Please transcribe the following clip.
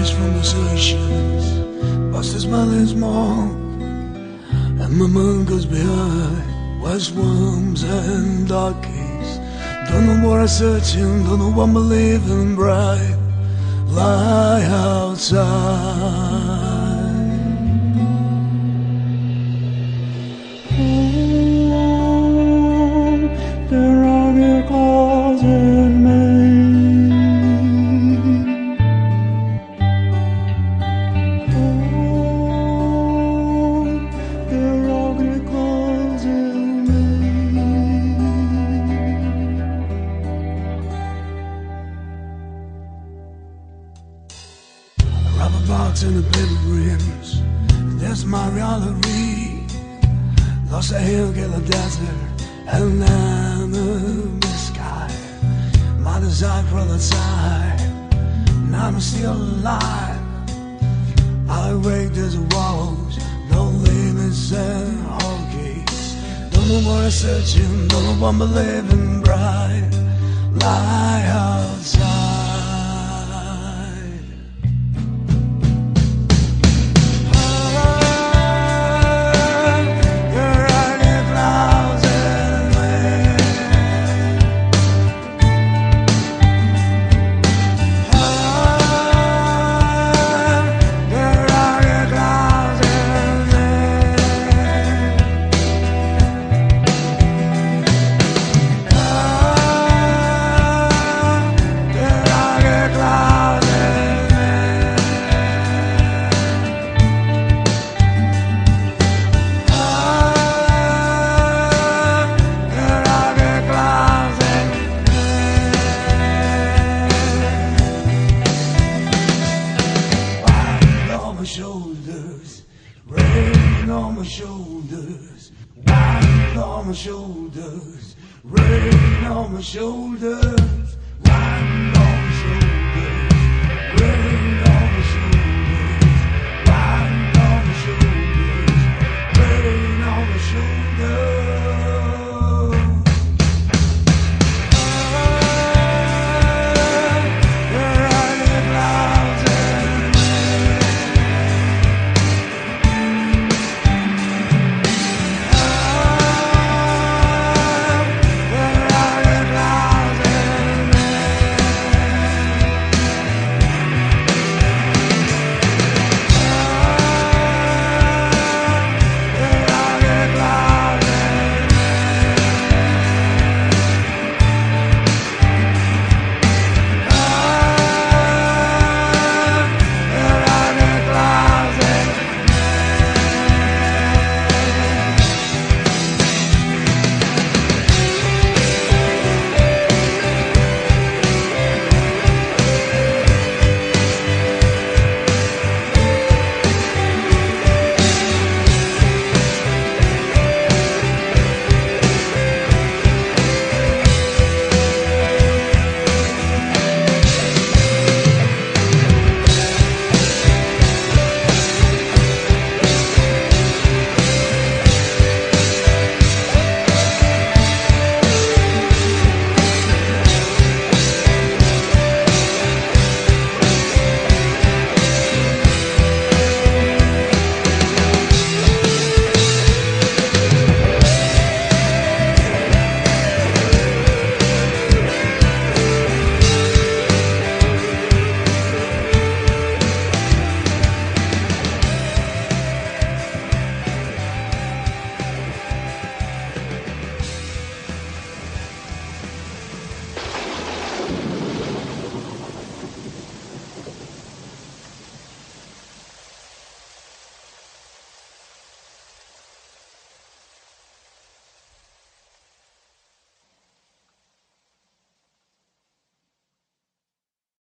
Flies from the Seychelles, past the smiling smoke, and my mind goes behind white swamps and dark caves. Don't know what I'm searching, don't know what I'm believing. Bright lie outside. The rugged closet made. The rugged closet made. A rubber box and the paper rims, that's my reality. Lost a hill, get a desert, and then the sky. My desire for the time, now I'm still alive. I wake, there's a walls, no limits and all gates. Don't know what I'm searching, don't know what I'm believing. Bright lie outside. Shoulders, rain on my shoulders, wine on my shoulders, rain on my shoulders, wine